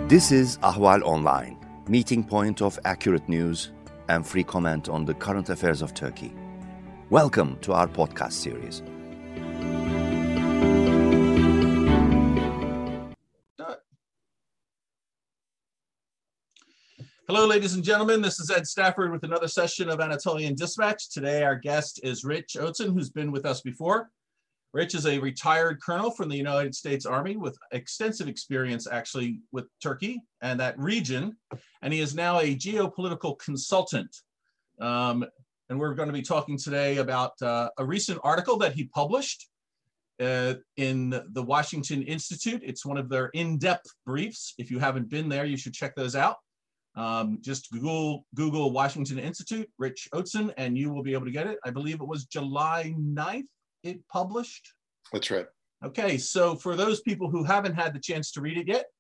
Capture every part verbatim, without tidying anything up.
This is Ahval Online, meeting point of accurate news and free comment on the current affairs of Turkey. Welcome to our podcast series. Hello, ladies and gentlemen. This is Ed Stafford with another session of Anatolian Dispatch. Today, our guest is Rich Otzen, who's been with us before. Rich is a retired colonel from the United States Army with extensive experience actually with Turkey and that region. And he is now a geopolitical consultant. Um, and we're going to be talking today about uh, a recent article that he published uh, in the Washington Institute. It's one of their in-depth briefs. If you haven't been there, you should check those out. Um, just Google, Google Washington Institute, Rich Otzen, and you will be able to get it. I believe it was July ninth. It published? That's right. Okay, so for those people who haven't had the chance to read it yet,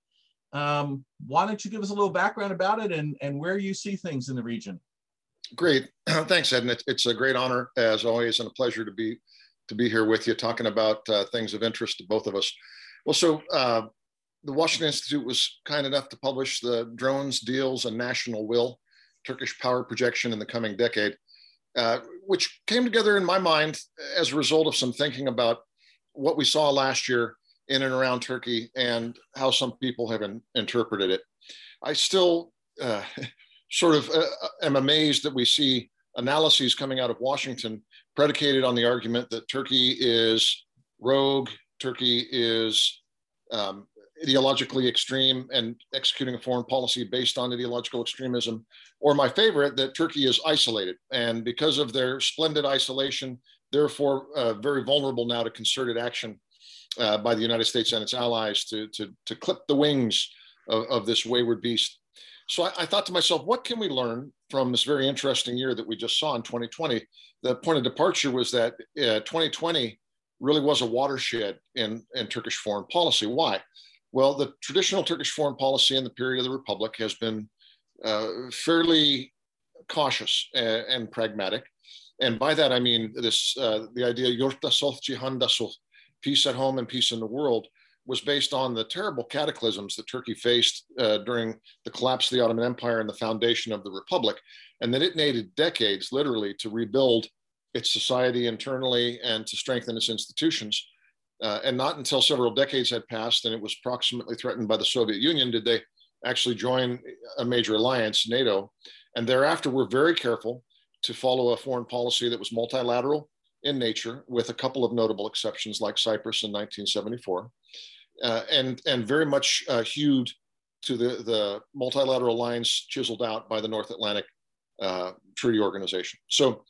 um, why don't you give us a little background about it and, and where you see things in the region? Great. Thanks, Ed. And it's, it's a great honor, as always, and a pleasure to be to be here with you, talking about uh, things of interest to both of us. Well, so uh, the Washington Institute was kind enough to publish the Drones, Deals, and National Will, Turkish Power Projection in the Coming Decade. Uh, which came together in my mind as a result of some thinking about what we saw last year in and around Turkey and how some people have in, interpreted it. I still uh, sort of uh, am amazed that we see analyses coming out of Washington predicated on the argument that Turkey is rogue, Turkey is um, ideologically extreme and executing a foreign policy based on ideological extremism, or my favorite, that Turkey is isolated. And because of their splendid isolation, therefore uh, very vulnerable now to concerted action uh, by the United States and its allies to, to, to clip the wings of, of this wayward beast. So I, I thought to myself, what can we learn from this very interesting year that we just saw in twenty twenty? The point of departure was that uh, twenty twenty really was a watershed in, in Turkish foreign policy. Why? Well, the traditional Turkish foreign policy in the period of the Republic has been uh, fairly cautious and, and pragmatic. And by that, I mean this, uh, the idea, yurtta sulh, cihanda sulh, peace at home and peace in the world, was based on the terrible cataclysms that Turkey faced uh, during the collapse of the Ottoman Empire and the foundation of the Republic. And that it needed decades, literally, to rebuild its society internally and to strengthen its institutions. Uh, and not until several decades had passed and it was proximately threatened by the Soviet Union did they actually join a major alliance, NATO. And thereafter were very careful to follow a foreign policy that was multilateral in nature, with a couple of notable exceptions like Cyprus in nineteen seventy-four, uh, and, and very much uh, hewed to the, the multilateral lines chiseled out by the North Atlantic uh, Treaty Organization. So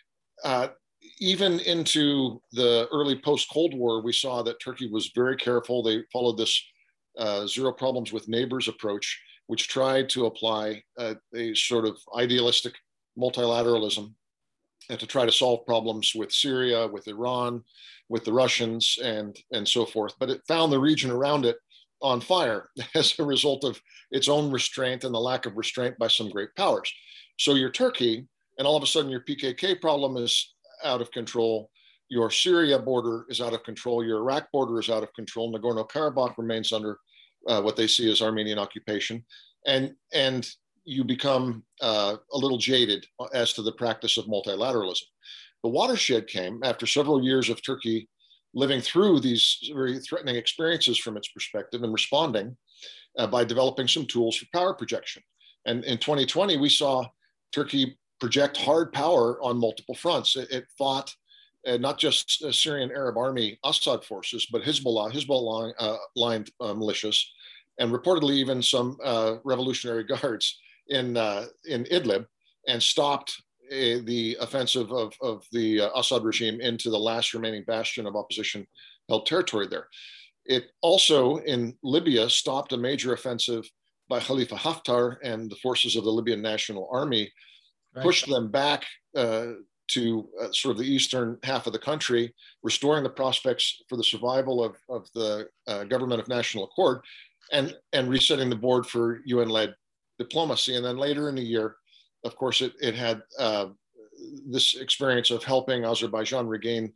uh, even into the early post-Cold War, we saw that Turkey was very careful. They followed this uh, zero problems with neighbors approach, which tried to apply uh, a sort of idealistic multilateralism and to try to solve problems with Syria, with Iran, with the Russians, and, and so forth. But it found the region around it on fire as a result of its own restraint and the lack of restraint by some great powers. So you're Turkey, and all of a sudden your P K K problem is out of control, your Syria border is out of control, your Iraq border is out of control, Nagorno-Karabakh remains under uh, what they see as Armenian occupation, and, and you become uh, a little jaded as to the practice of multilateralism. The watershed came after several years of Turkey living through these very threatening experiences from its perspective and responding uh, by developing some tools for power projection. And in twenty twenty, we saw Turkey project hard power on multiple fronts. It, it fought uh, not just uh, Syrian Arab Army Assad forces, but Hezbollah, Hezbollah uh, lined uh, militias, and reportedly even some uh, Revolutionary Guards in uh, in Idlib, and stopped uh, the offensive of, of the uh, Assad regime into the last remaining bastion of opposition-held territory there. It also, in Libya, stopped a major offensive by Khalifa Haftar and the forces of the Libyan National Army, right, pushed them back uh, to uh, sort of the eastern half of the country, restoring the prospects for the survival of, of the uh, government of national accord, and, and resetting the board for U N-led diplomacy. And then later in the year, of course, it, it had uh, this experience of helping Azerbaijan regain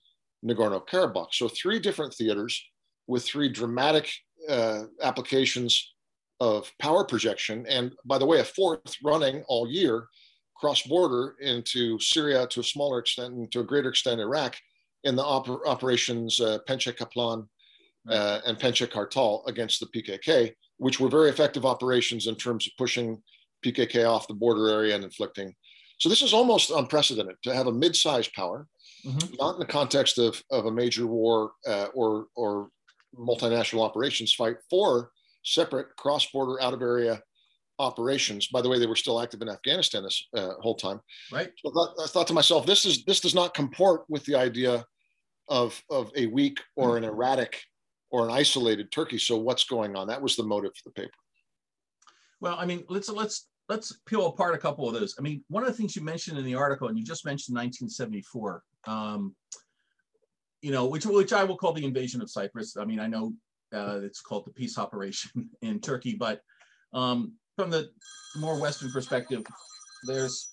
Nagorno-Karabakh. So three different theaters with three dramatic uh, applications of power projection. And by the way, a fourth running all year cross-border into Syria to a smaller extent and to a greater extent Iraq in the oper- operations uh, Penche Kaplan uh, and Penche Kartal against the P K K, which were very effective operations in terms of pushing P K K off the border area and inflicting. So this is almost unprecedented to have a mid-sized power, mm-hmm. not in the context of, of a major war uh, or, or multinational operations fight, for separate cross-border out-of-area operations. By the way, they were still active in Afghanistan this uh, whole time. Right. So I thought, I thought to myself, this is this does not comport with the idea of, of a weak or an erratic or an isolated Turkey. So what's going on? That was the motive for the paper. Well, I mean, let's let's let's peel apart a couple of those. I mean, one of the things you mentioned in the article, and you just mentioned nineteen seventy-four, um, you know, which which I will call the invasion of Cyprus. I mean, I know uh, it's called the peace operation in Turkey, but um, from the more Western perspective, there's,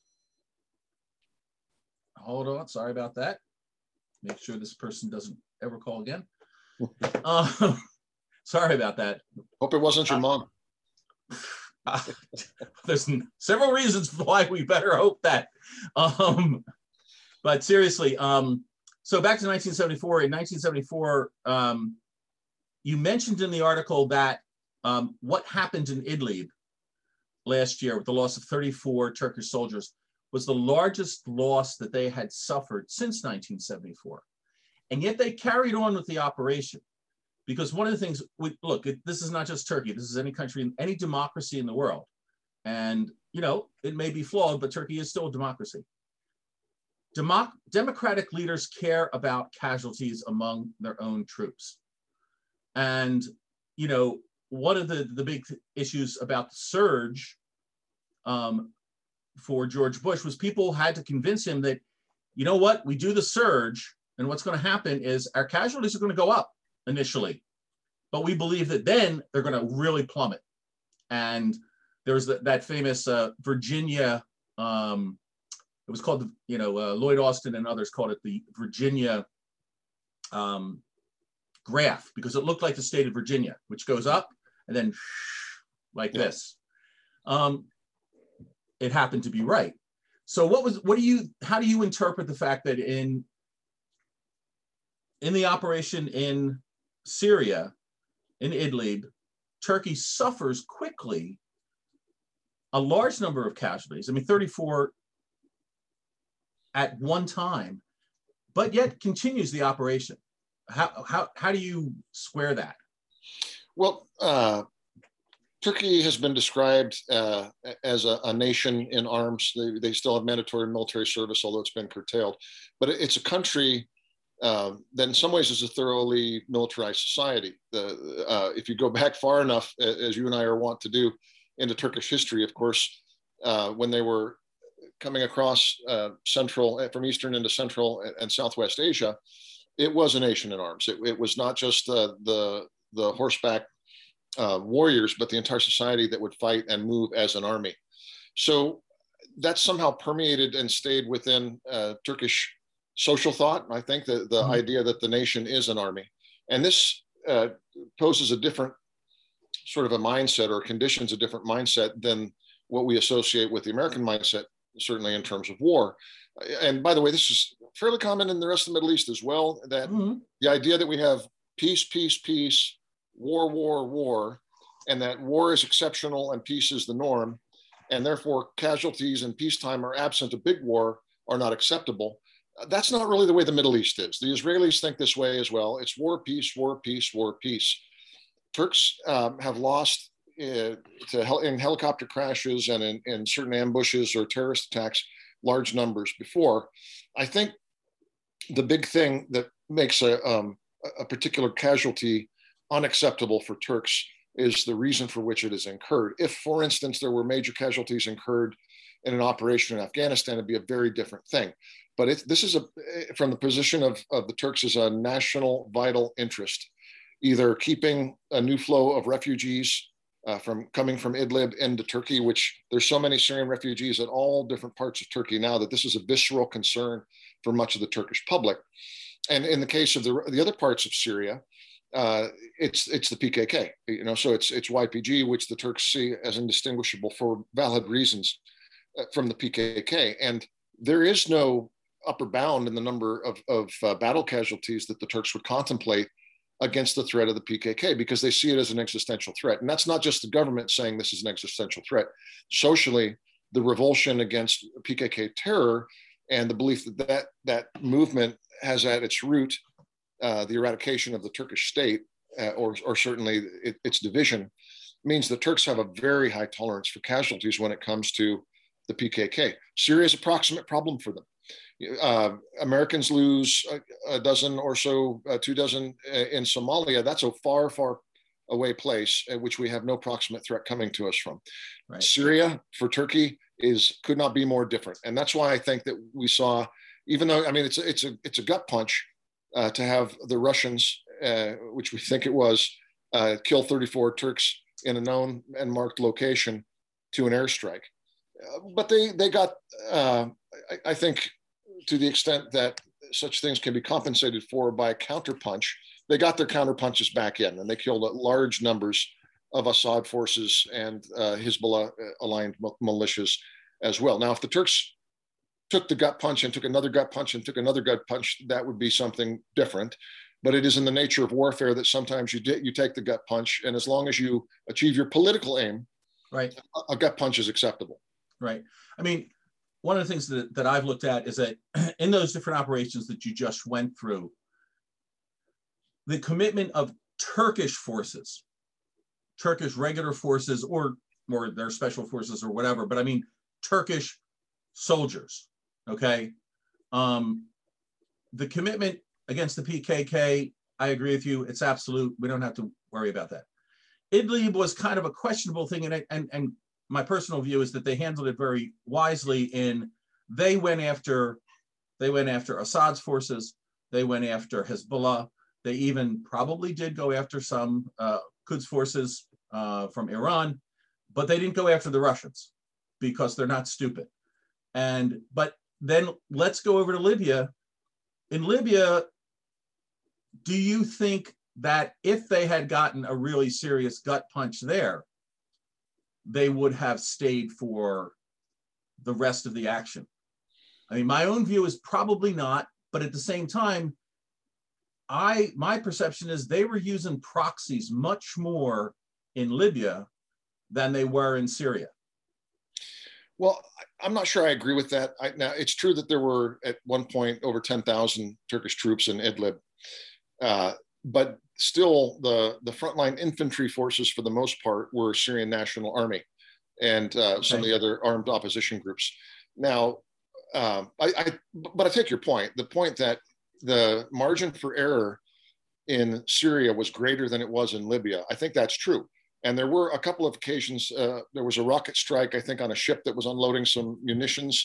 hold on, sorry about that. Make sure this person doesn't ever call again. uh, sorry about that. Hope it wasn't your uh, mom. Uh, there's several reasons why we better hope that. Um, but seriously, um, so back to nineteen seventy-four. In nineteen seventy-four, um, you mentioned in the article that Um, what happened in Idlib last year with the loss of thirty-four Turkish soldiers was the largest loss that they had suffered since nineteen seventy-four. And yet they carried on with the operation, because one of the things, we, look, it, this is not just Turkey, this is any country, any democracy in the world. And, you know, it may be flawed, but Turkey is still a democracy. Democ democratic leaders care about casualties among their own troops. And, you know, one of the, the big issues about the surge um, for George Bush was people had to convince him that, you know what, we do the surge, and what's going to happen is our casualties are going to go up initially, but we believe that then they're going to really plummet. And there's the, that famous uh, Virginia, um, it was called, the, you know, uh, Lloyd Austin and others called it the Virginia um, graph, because it looked like the state of Virginia, which goes up and then like yeah. this. Um, it happened to be right. So what was, what do you, how do you interpret the fact that in, in the operation in Syria, in Idlib, Turkey suffers quickly a large number of casualties? I mean, thirty-four at one time, but yet continues the operation. How, how, how do you square that? Well, uh, Turkey has been described uh, as a, a nation in arms. They, they still have mandatory military service, although it's been curtailed. But it's a country uh, that in some ways is a thoroughly militarized society. The, uh, if you go back far enough, as you and I are wont to do, into Turkish history, of course, uh, when they were coming across uh, central, from Eastern into Central and Southwest Asia, it was a nation in arms. It, it was not just uh, the, the horseback uh, warriors, but the entire society that would fight and move as an army. So that somehow permeated and stayed within uh, Turkish social thought. I think the, the mm-hmm. idea that the nation is an army. And this uh, poses a different sort of a mindset, or conditions a different mindset than what we associate with the American mindset, certainly in terms of war. And by the way, this is fairly common in the rest of the Middle East as well, that mm-hmm. the idea that we have peace, peace, peace, war, war, war, and that war is exceptional and peace is the norm, and therefore casualties in peacetime or absent a big war are not acceptable. That's not really the way the Middle East is. The Israelis think this way as well. It's war, peace, war, peace, war, peace. Turks um, have lost uh, to hel in helicopter crashes and in, in certain ambushes or terrorist attacks large numbers before. I think the big thing that makes a, um, a particular casualty unacceptable for Turks is the reason for which it is incurred. If, for instance, there were major casualties incurred in an operation in Afghanistan, it'd be a very different thing. But it, this is a, from the position of, of the Turks, as a national vital interest, either keeping a new flow of refugees uh, from coming from Idlib into Turkey, which there's so many Syrian refugees at all different parts of Turkey now that this is a visceral concern for much of the Turkish public. And in the case of the, the other parts of Syria, uh, it's it's the P K K. You know, so it's it's Y P G, which the Turks see as indistinguishable for valid reasons uh, from the P K K, and there is no upper bound in the number of of uh, battle casualties that the Turks would contemplate against the threat of the P K K, because they see it as an existential threat. And that's not just the government saying this is an existential threat. Socially, the revulsion against P K K terror and the belief that that, that movement has at its root uh, the eradication of the Turkish state, uh, or, or certainly it, its division, means the Turks have a very high tolerance for casualties when it comes to the P K K. Syria is a proximate problem for them. Uh, Americans lose a, a dozen or so, uh, two dozen in Somalia. That's a far, far away place at which we have no proximate threat coming to us from. Right. Syria for Turkey is could not be more different, and that's why I think that we saw, even though I mean it's a, it's a it's a gut punch uh, to have the Russians, uh, which we think it was, uh, kill thirty-four Turks in a known and marked location to an airstrike, uh, but they they got uh, I, I think, to the extent that such things can be compensated for by a counterpunch, they got their counterpunches back in, and they killed large numbers of Assad forces and uh, Hezbollah aligned militias as well. Now, if the Turks took the gut punch and took another gut punch and took another gut punch, that would be something different. But it is in the nature of warfare that sometimes you you take the gut punch, and as long as you achieve your political aim, right, a, a gut punch is acceptable. Right. I mean, one of the things that, that I've looked at is that in those different operations that you just went through, the commitment of Turkish forces, Turkish regular forces, or, or their special forces or whatever, but I mean, Turkish soldiers, okay? Um, the commitment against the P K K, I agree with you, it's absolute. We don't have to worry about that. Idlib was kind of a questionable thing, and, and, and my personal view is that they handled it very wisely in they went after they went after Assad's forces, they went after Hezbollah, they even probably did go after some uh, Quds forces uh, from Iran, but they didn't go after the Russians because they're not stupid. And but then let's go over to Libya. In Libya, do you think that if they had gotten a really serious gut punch there, they would have stayed for the rest of the action? I mean, my own view is probably not, but at the same time, I my perception is they were using proxies much more in Libya than they were in Syria. Well, I'm not sure I agree with that. I, now, it's true that there were at one point over ten thousand Turkish troops in Idlib, uh, but still the, the frontline infantry forces for the most part were Syrian National Army and uh, okay. some of the other armed opposition groups. Now, um, I, I, but I take your point, the point that the margin for error in Syria was greater than it was in Libya. I think that's true. And there were a couple of occasions, uh, there was a rocket strike, I think, on a ship that was unloading some munitions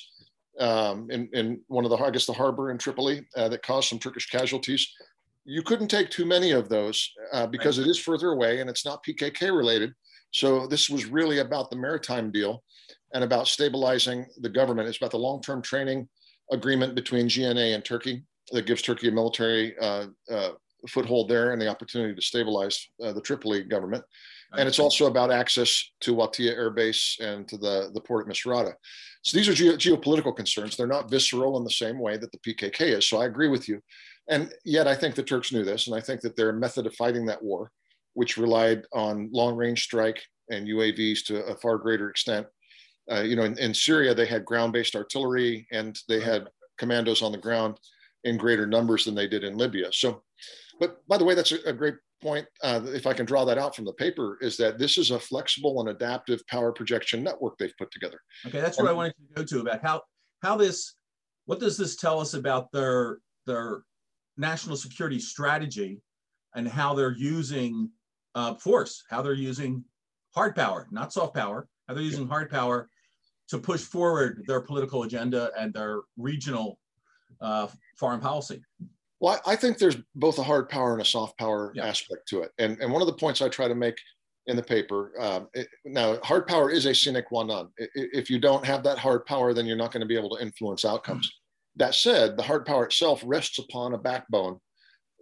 um, in, in one of the, I guess, the harbor in Tripoli uh, that caused some Turkish casualties. You couldn't take too many of those uh, because right. it is further away and it's not P K K related. So this was really about the maritime deal and about stabilizing the government. It's about the long-term training agreement between G N A and Turkey that gives Turkey a military uh, uh, foothold there and the opportunity to stabilize uh, the Tripoli government. And it's also about access to Watia Air Base and to the, the port at Misrata. So these are geo- geopolitical concerns. They're not visceral in the same way that the P K K is. So I agree with you. And yet I think the Turks knew this. And I think that their method of fighting that war, which relied on long-range strike and U A Vs to a far greater extent. Uh, you know, in, in Syria, they had ground-based artillery and they had commandos on the ground in greater numbers than they did in Libya. So, but by the way, that's a, a great point, uh, if I can draw that out from the paper, is that this is a flexible and adaptive power projection network they've put together. Okay, that's what and, I wanted to go to about how how this, what does this tell us about their their national security strategy and how they're using uh, force, how they're using hard power, not soft power, how they're using hard power to push forward their political agenda and their regional uh, foreign policy. Well, I think there's both a hard power and a soft power yeah. aspect to it. And, and one of the points I try to make in the paper, um, it, now hard power is a sine qua non. If you don't have that hard power, then you're not going to be able to influence outcomes. Mm-hmm. That said, the hard power itself rests upon a backbone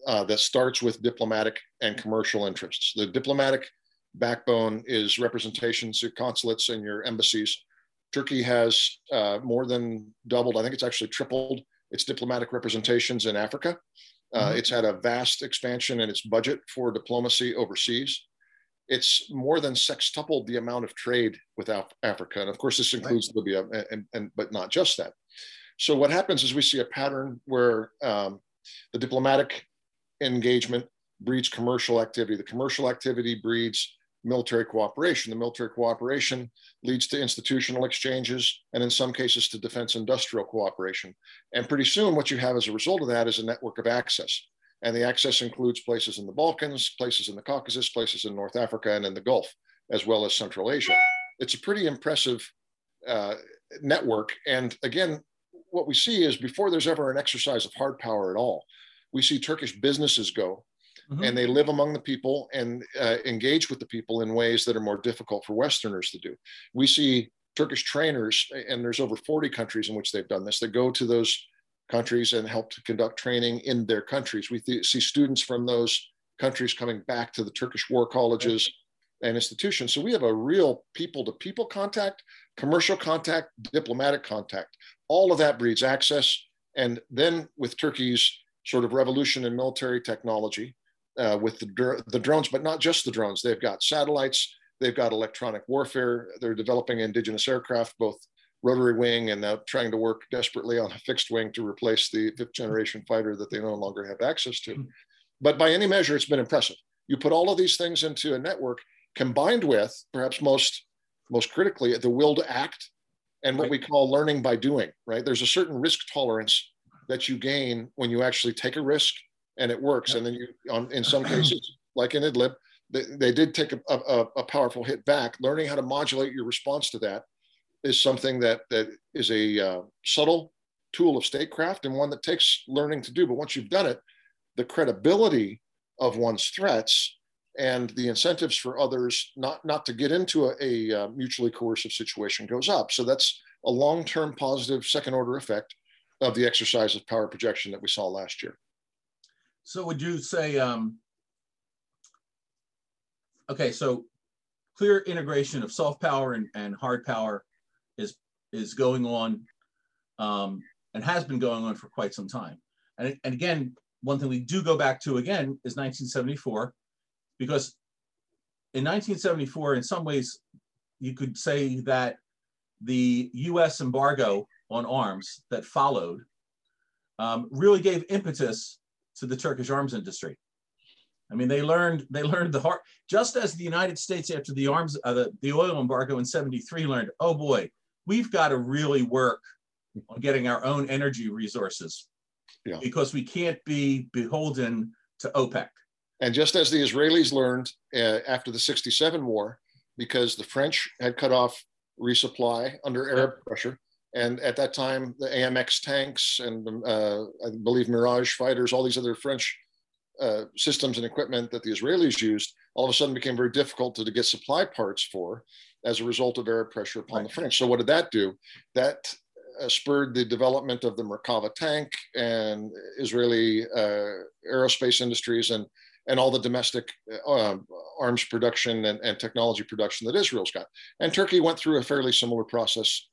uh, that starts with diplomatic and commercial interests. The diplomatic backbone is representations, your consulates and your embassies. Turkey has uh, more than doubled, I think it's actually tripled its diplomatic representations in Africa. Uh, mm-hmm. It's had a vast expansion in its budget for diplomacy overseas. It's more than sextupled the amount of trade with Af- Africa. And of course, this includes right. Libya, and, and, and, but not just that. So what happens is we see a pattern where um, the diplomatic engagement breeds commercial activity. The commercial activity breeds military cooperation. The military cooperation leads to institutional exchanges, and in some cases to defense industrial cooperation. And pretty soon what you have as a result of that is a network of access. And the access includes places in the Balkans, places in the Caucasus, places in North Africa and in the Gulf, as well as Central Asia. It's a pretty impressive uh, network. And again, what we see is before there's ever an exercise of hard power at all, we see Turkish businesses go mm-hmm. and they live among the people and uh, engage with the people in ways that are more difficult for Westerners to do. We see Turkish trainers, and there's over forty countries in which they've done this, that go to those countries and help to conduct training in their countries. We th- see students from those countries coming back to the Turkish war colleges right. and institutions. So we have a real people-to-people contact, commercial contact, diplomatic contact. All of that breeds access. And then with Turkey's sort of revolution in military technology, uh, with the, dr- the drones, but not just the drones. They've got satellites, they've got electronic warfare, they're developing indigenous aircraft, both rotary wing and now trying to work desperately on a fixed wing to replace the fifth generation fighter that they no longer have access to. But by any measure, it's been impressive. You put all of these things into a network combined with, perhaps most, most critically, the will to act and what right. we call learning by doing, right? There's a certain risk tolerance that you gain when you actually take a risk and it works. Yep. And then you, on, in some cases, like in Idlib, they, they did take a, a, a powerful hit back. Learning how to modulate your response to that is something that, that is a uh, subtle tool of statecraft and one that takes learning to do. But once you've done it, the credibility of one's threats and the incentives for others not, not to get into a, a uh, mutually coercive situation goes up. So that's a long-term positive second order effect of the exercise of power projection that we saw last year. So would you say, um, okay, so clear integration of soft power and, and hard power is is going on um, and has been going on for quite some time. And, and again, one thing we do go back to again is nineteen seventy-four, because in nineteen seventy-four, in some ways, you could say that the U S embargo on arms that followed um, really gave impetus to the Turkish arms industry. I mean, they learned they learned the hard, just as the United States after the arms uh, the, the oil embargo in seventy-three learned, oh boy, we've got to really work on getting our own energy resources yeah. because we can't be beholden to OPEC. And just as the Israelis learned uh, after the sixty-seven war, because the French had cut off resupply under Arab yeah. pressure, and at that time, the A M X tanks and uh, I believe Mirage fighters, all these other French uh, systems and equipment that the Israelis used, all of a sudden became very difficult to, to get supply parts for as a result of Arab pressure upon right. the French. So what did that do? That uh, spurred the development of the Merkava tank and Israeli uh, aerospace industries and, and all the domestic uh, arms production and, and technology production that Israel's got. And Turkey went through a fairly similar process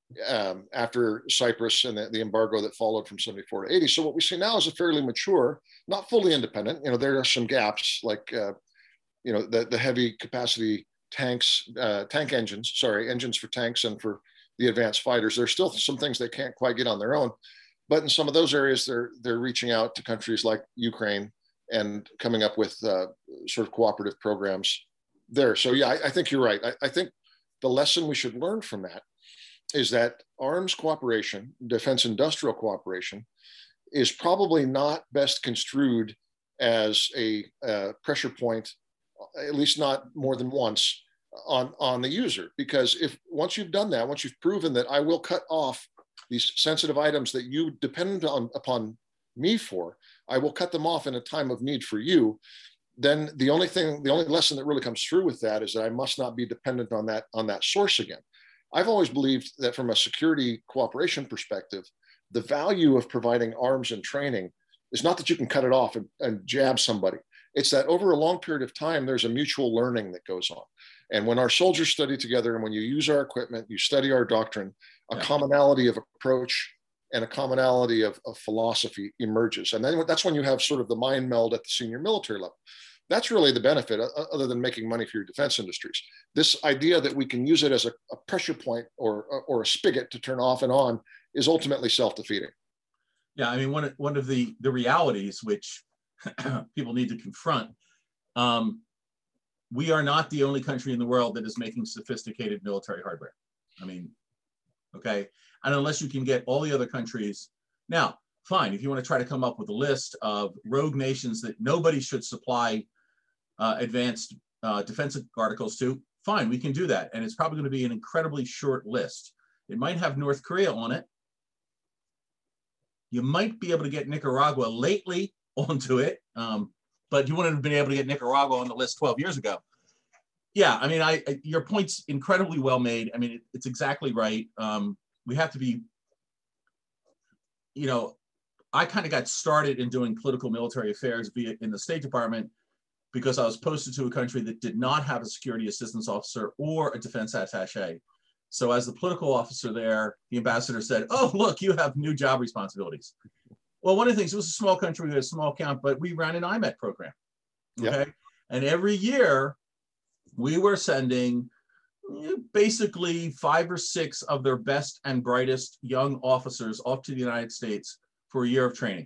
Um, after Cyprus and the, the embargo that followed from seventy-four to eighty. So what we see now is a fairly mature, not fully independent. You know, there are some gaps like, uh, you know, the, the heavy capacity tanks, uh, tank engines, sorry, engines for tanks and for the advanced fighters. There's still some things they can't quite get on their own. But in some of those areas, they're, they're reaching out to countries like Ukraine and coming up with uh, sort of cooperative programs there. So yeah, I, I think you're right. I, I think the lesson we should learn from that is that arms cooperation, defense industrial cooperation, is probably not best construed as a uh, pressure point, at least not more than once, on, on the user. Because if once you've done that, once you've proven that I will cut off these sensitive items that you depend on upon me for, I will cut them off in a time of need for you, then the only thing, the only lesson that really comes through with that is that I must not be dependent on that, on that source again. I've always believed that from a security cooperation perspective, the value of providing arms and training is not that you can cut it off and, and jab somebody. It's that over a long period of time, there's a mutual learning that goes on. And when our soldiers study together and when you use our equipment, you study our doctrine, a Yeah. commonality of approach and a commonality of, of philosophy emerges. And then that's when you have sort of the mind meld at the senior military level. That's really the benefit, uh, other than making money for your defense industries. This idea that we can use it as a, a pressure point or, or a spigot to turn off and on is ultimately self-defeating. Yeah, I mean, one of, one of the, the realities which people need to confront, um, we are not the only country in the world that is making sophisticated military hardware. I mean, okay? And unless you can get all the other countries, now, fine, if you want to try to come up with a list of rogue nations that nobody should supply uh, advanced uh, defensive articles to, fine, we can do that. And it's probably going to be an incredibly short list. It might have North Korea on it. You might be able to get Nicaragua lately onto it, um, but you wouldn't have been able to get Nicaragua on the list twelve years ago. Yeah, I mean, I, I your point's incredibly well made. I mean, it, it's exactly right. Um, we have to be, you know, I kind of got started in doing political military affairs via in the State Department because I was posted to a country that did not have a security assistance officer or a defense attaché. So as the political officer there, the ambassador said, oh, look, you have new job responsibilities. Well, one of the things, it was a small country, we had a small count, but we ran an I MET program, okay? Yep. And every year we were sending basically five or six of their best and brightest young officers off to the United States for a year of training.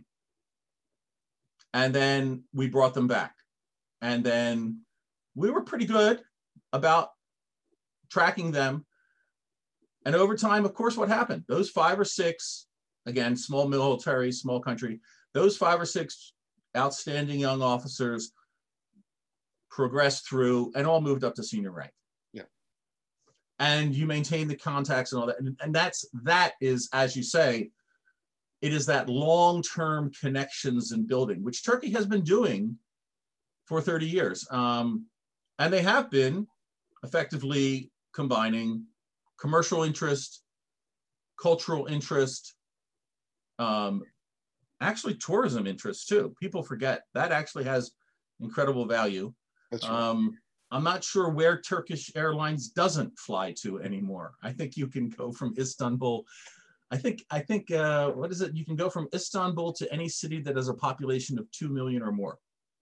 And then we brought them back. And then we were pretty good about tracking them. And over time, of course, what happened? Those five or six, again, small military, small country, those five or six outstanding young officers progressed through and all moved up to senior rank. Yeah. And you maintain the contacts and all that. And, and that's, that is, as you say, it is that long-term connections and building, which Turkey has been doing for thirty years. Um, and they have been effectively combining commercial interest, cultural interest, um, actually tourism interest too. People forget that actually has incredible value. That's right. Um, I'm not sure where Turkish Airlines doesn't fly to anymore. I think you can go from Istanbul. I think, I think uh, what is it? You can go from Istanbul to any city that has a population of two million or more.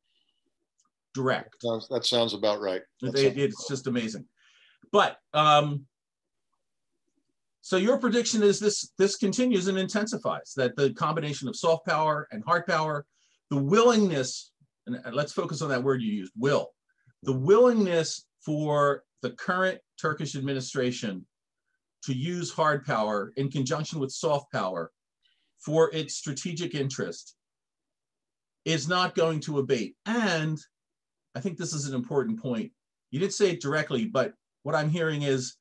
Direct. That sounds, that sounds about right. It, it, it's just amazing. But, um, so your prediction is this, this continues and intensifies, that the combination of soft power and hard power, the willingness, and let's focus on that word you used, will, the willingness for the current Turkish administration to use hard power in conjunction with soft power for its strategic interest is not going to abate. And I think this is an important point. You didn't say it directly, but what I'm hearing is,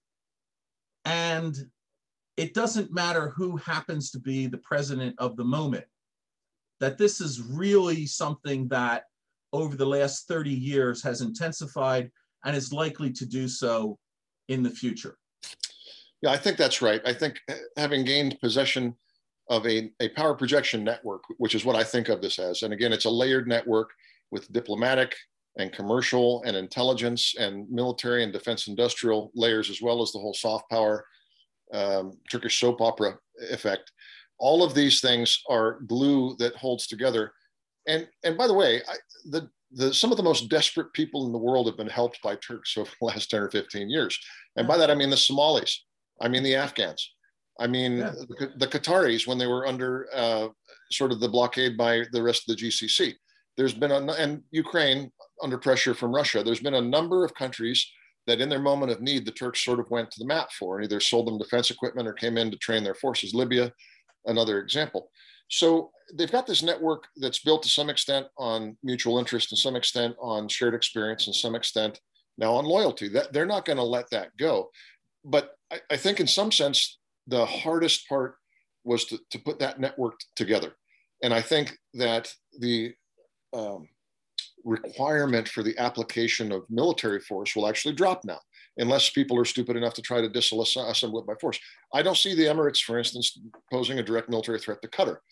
and it doesn't matter who happens to be the president of the moment, that this is really something that over the last thirty years has intensified and is likely to do so in the future. Yeah, I think that's right. I think having gained possession of a, a power projection network, which is what I think of this as, and again, it's a layered network with diplomatic and commercial and intelligence and military and defense industrial layers, as well as the whole soft power um, Turkish soap opera effect. All of these things are glue that holds together. And, and by the way, I, the, the, some of the most desperate people in the world have been helped by Turks over the last ten or fifteen years. And by that, I mean the Somalis, I mean the Afghans, I mean yeah. the, the Qataris when they were under uh, sort of the blockade by the rest of the G C C. There's been, a, and Ukraine under pressure from Russia, there's been a number of countries that in their moment of need, the Turks sort of went to the mat for and either sold them defense equipment or came in to train their forces. Libya, another example. So they've got this network that's built to some extent on mutual interest, to some extent on shared experience, and some extent now on loyalty. That they're not going to let that go. But I, I think in some sense, the hardest part was to, to put that network together. And I think that the um, requirement for the application of military force will actually drop now, unless people are stupid enough to try to disassemble it by force. I don't see the Emirates, for instance, posing a direct military threat to Qatar.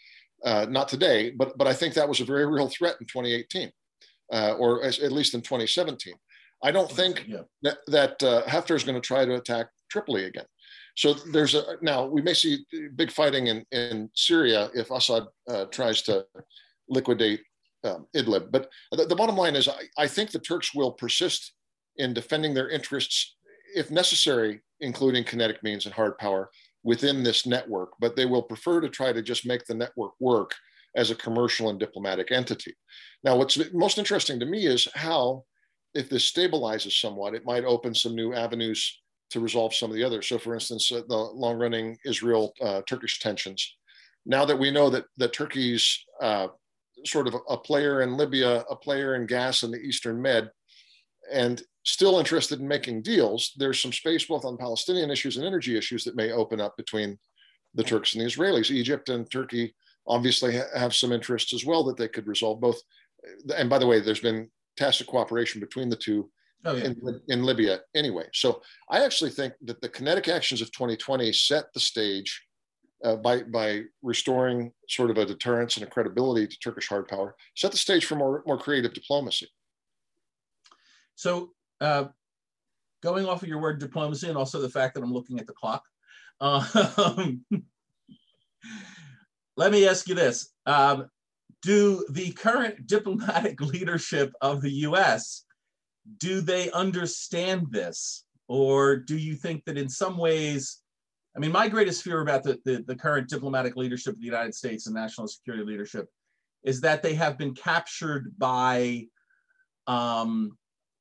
Uh, not today, but but I think that was a very real threat in twenty eighteen, uh, or as, at least in twenty seventeen. I don't think yeah. that that uh, Haftar is going to try to attack Tripoli again. So there's a now we may see big fighting in in Syria if Assad uh, tries to liquidate um, Idlib. But the, the bottom line is, I, I think the Turks will persist in defending their interests, if necessary, including kinetic means and hard power within this network, but they will prefer to try to just make the network work as a commercial and diplomatic entity. Now, what's most interesting to me is how, if this stabilizes somewhat, it might open some new avenues to resolve some of the others. So for instance, uh, the long-running Israel-Turkish uh, tensions. Now that we know that, that Turkey's uh, sort of a, a player in Libya, a player in gas in the Eastern Med, and still interested in making deals, there's some space both on Palestinian issues and energy issues that may open up between the Turks and the Israelis. Egypt and Turkey obviously ha- have some interests as well that they could resolve both. And by the way, there's been tacit cooperation between the two oh, yeah. in, in Libya anyway. So I actually think that the kinetic actions of twenty twenty set the stage uh, by, by restoring sort of a deterrence and a credibility to Turkish hard power, set the stage for more, more creative diplomacy. So uh, going off of your word diplomacy and also the fact that I'm looking at the clock, um, let me ask you this. Um, do the current diplomatic leadership of the U S, do they understand this? Or do you think that in some ways, I mean, my greatest fear about the, the, the current diplomatic leadership of the United States and national security leadership is that they have been captured by um,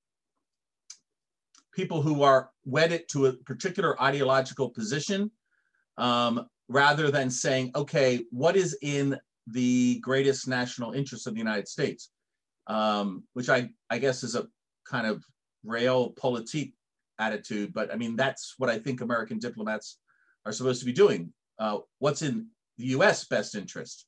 people who are wedded to a particular ideological position, um, rather than saying, okay, what is in the greatest national interest of the United States, um, which I, I guess is a kind of realpolitik attitude, but I mean, that's what I think American diplomats are supposed to be doing. Uh, what's in the U S best interest?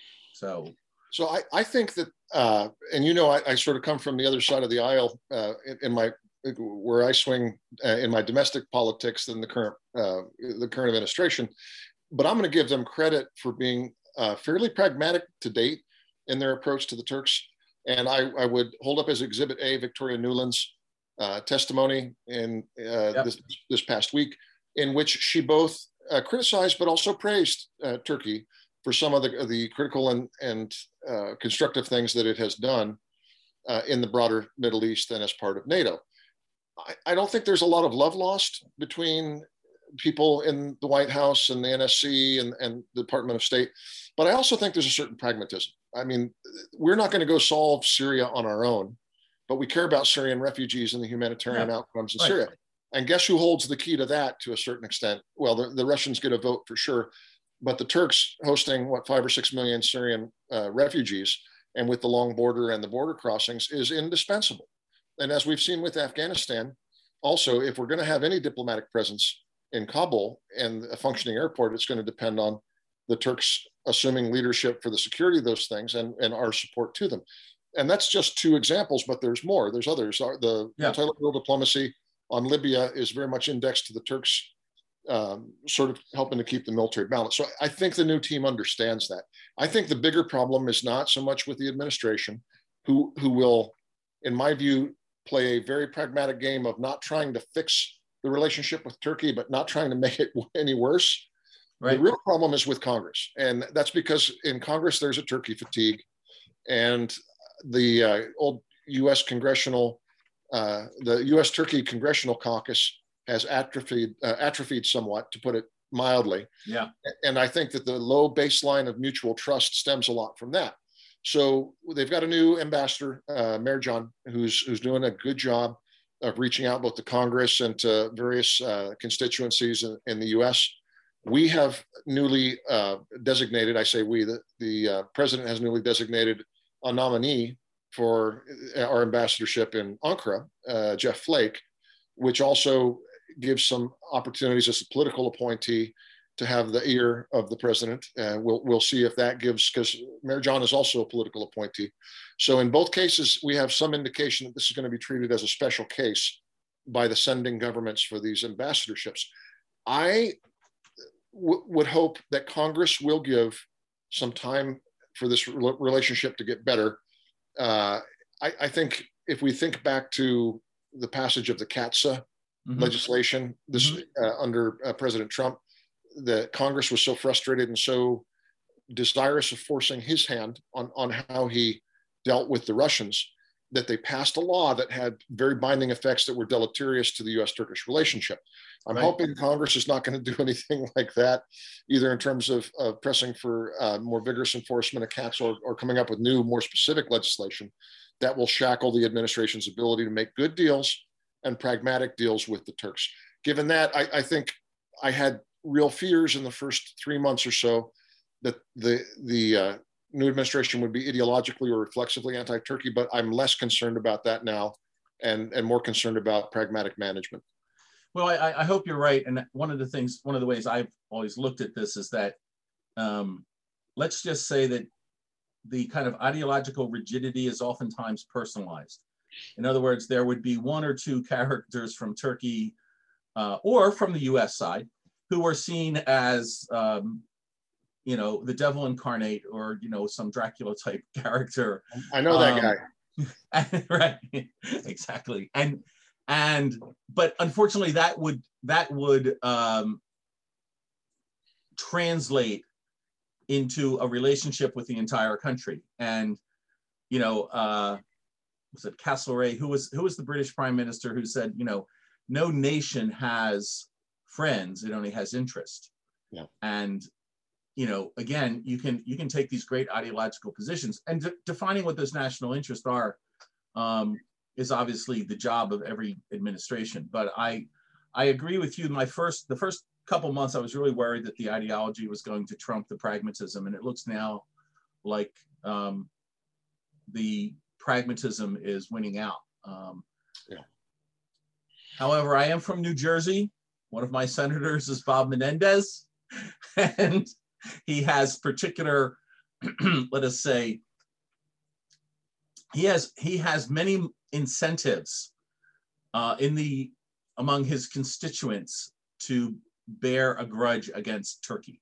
So, so I, I think that, uh, and you know, I, I sort of come from the other side of the aisle uh, in, in my, where I swing uh, in my domestic politics than the current, uh, the current administration, but I'm going to give them credit for being uh, fairly pragmatic to date in their approach to the Turks. And I, I would hold up as Exhibit A Victoria Nuland's uh, testimony in uh, yep. this, this past week, in which she both uh, criticized but also praised uh, Turkey for some of the, the critical and, and uh, constructive things that it has done uh, in the broader Middle East and as part of NATO. I, I don't think there's a lot of love lost between people in the White House and the N S C and, and the Department of State, but I also think there's a certain pragmatism. I mean, we're not going to go solve Syria on our own, but we care about Syrian refugees and the humanitarian yeah. outcomes in right. Syria. And guess who holds the key to that to a certain extent? Well, the, the Russians get a vote for sure, but the Turks hosting what, five or six million Syrian uh, refugees, and with the long border and the border crossings, is indispensable. And as we've seen with Afghanistan, also, if we're going to have any diplomatic presence in Kabul and a functioning airport, it's going to depend on the Turks assuming leadership for the security of those things and, and our support to them. And that's just two examples, but there's more. There's others. The yeah. multilateral diplomacy on Libya is very much indexed to the Turks, um, sort of helping to keep the military balance. So I think the new team understands that. I think the bigger problem is not so much with the administration, who, who will, in my view, play a very pragmatic game of not trying to fix the relationship with Turkey, but not trying to make it any worse. Right. The real problem is with Congress. And that's because in Congress, there's a Turkey fatigue. And the uh, old U S congressional, uh, the U S Turkey Congressional Caucus has atrophied, uh, atrophied somewhat, to put it mildly. Yeah. And I think that the low baseline of mutual trust stems a lot from that. So they've got a new ambassador, uh, Merjan, who's, who's doing a good job of reaching out both to Congress and to various uh, constituencies in, in the U S. We have newly uh, designated, I say we, the, the uh, president has newly designated a nominee for our ambassadorship in Ankara, uh, Jeff Flake, which also gives some opportunities as a political appointee to have the ear of the president. Uh, we'll, we'll see if that gives, because Merjan is also a political appointee. So in both cases, we have some indication that this is going to be treated as a special case by the sending governments for these ambassadorships. I w- would hope that Congress will give some time for this re- relationship to get better. Uh, I, I think if we think back to the passage of the CATSA mm-hmm. legislation, this mm-hmm. uh, under uh, President Trump, the Congress was so frustrated and so desirous of forcing his hand on, on how he dealt with the Russians that they passed a law that had very binding effects that were deleterious to the U S Turkish relationship. I'm right. hoping Congress is not going to do anything like that, either in terms of uh, pressing for uh, more vigorous enforcement of CATSA or, or coming up with new, more specific legislation that will shackle the administration's ability to make good deals and pragmatic deals with the Turks. Given that, I, I think I had real fears in the first three months or so that the the uh, new administration would be ideologically or reflexively anti-Turkey, but I'm less concerned about that now and, and more concerned about pragmatic management. Well, I, I hope you're right. And one of the things, one of the ways I've always looked at this is that, um, let's just say that the kind of ideological rigidity is oftentimes personalized. In other words, there would be one or two characters from Turkey uh, or from the U S side who are seen as, um, you know, the devil incarnate or, you know, some Dracula type character. I know that um, guy. Right, exactly. And, and, but unfortunately that would, that would um, translate into a relationship with the entire country. And, you know, uh, was it Castlereagh, who was, who was the British Prime Minister who said, you know, no nation has friends, it only has interest. Yeah. And, you know, again, you can you can take these great ideological positions, and de- defining what those national interests are um, is obviously the job of every administration. But I I agree with you. My first the first couple months, I was really worried that the ideology was going to trump the pragmatism, and it looks now like um, the pragmatism is winning out. Um, yeah. However, I am from New Jersey. One of my senators is Bob Menendez, and he has particular, let us say, he has he has many incentives uh, in the among his constituents to bear a grudge against Turkey.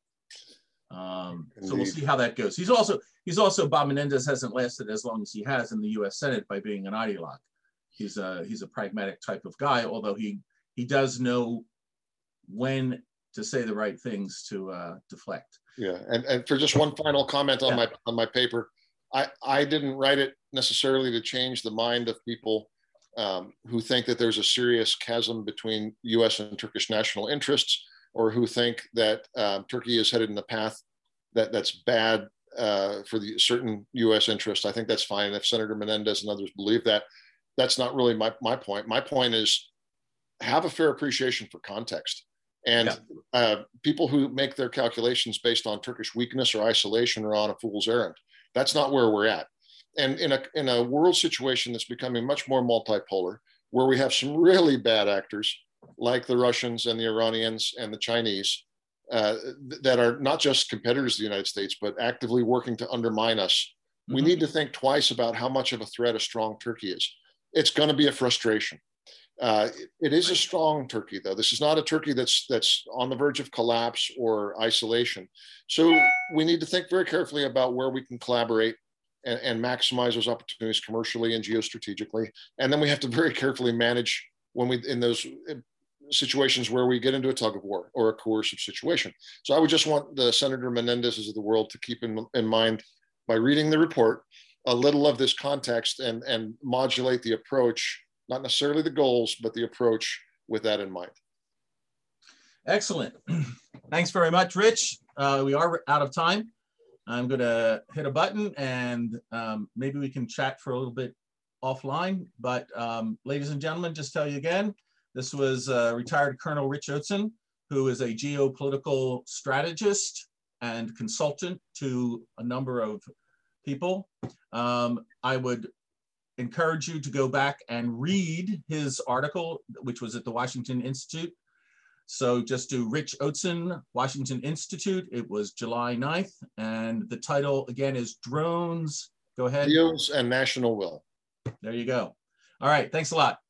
Um, so we'll see how that goes. He's also he's also Bob Menendez hasn't lasted as long as he has in the U S Senate by being an ideologue. He's a he's a pragmatic type of guy, although he he does know when to say the right things to uh, deflect. Yeah, and, and for just one final comment on yeah. my on my paper, I, I didn't write it necessarily to change the mind of people um, who think that there's a serious chasm between U S and Turkish national interests, or who think that um, Turkey is headed in a path that, that's bad uh, for the certain U S interest. I think that's fine. If Senator Menendez and others believe that, that's not really my, my point. My point is have a fair appreciation for context. And yeah. uh, people who make their calculations based on Turkish weakness or isolation are on a fool's errand. That's not where we're at. And in a in a world situation that's becoming much more multipolar, where we have some really bad actors like the Russians and the Iranians and the Chinese uh, th- that are not just competitors of the United States, but actively working to undermine us, mm-hmm. we need to think twice about how much of a threat a strong Turkey is. It's going to be a frustration. Uh, it is a strong Turkey, though. This is not a Turkey that's that's on the verge of collapse or isolation. So we need to think very carefully about where we can collaborate and, and maximize those opportunities commercially and geostrategically. And then we have to very carefully manage when we in those situations where we get into a tug of war or a coercive situation. So I would just want the Senator Menendez's of the world to keep in, in mind by reading the report a little of this context and, and modulate the approach. Not necessarily the goals, but the approach with that in mind. Excellent. Thanks very much, Rich. Uh, we are out of time. I'm going to hit a button and um, maybe we can chat for a little bit offline. But um, ladies and gentlemen, just tell you again, this was uh, retired Colonel Rich Oateson, who is a geopolitical strategist and consultant to a number of people. Um, I would encourage you to go back and read his article, which was at the Washington Institute. So just do Rich Oateson, Washington Institute. It was July ninth. And the title again is Drones. Go ahead. Deals and National Will. There you go. All right. Thanks a lot.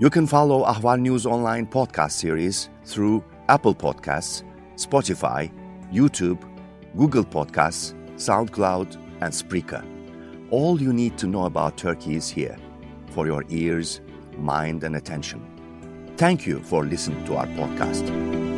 You can follow Ahval News Online podcast series through Apple Podcasts, Spotify, YouTube, Google Podcasts, SoundCloud, and Spreaker. All you need to know about Turkey is here, for your ears, mind, and attention. Thank you for listening to our podcast.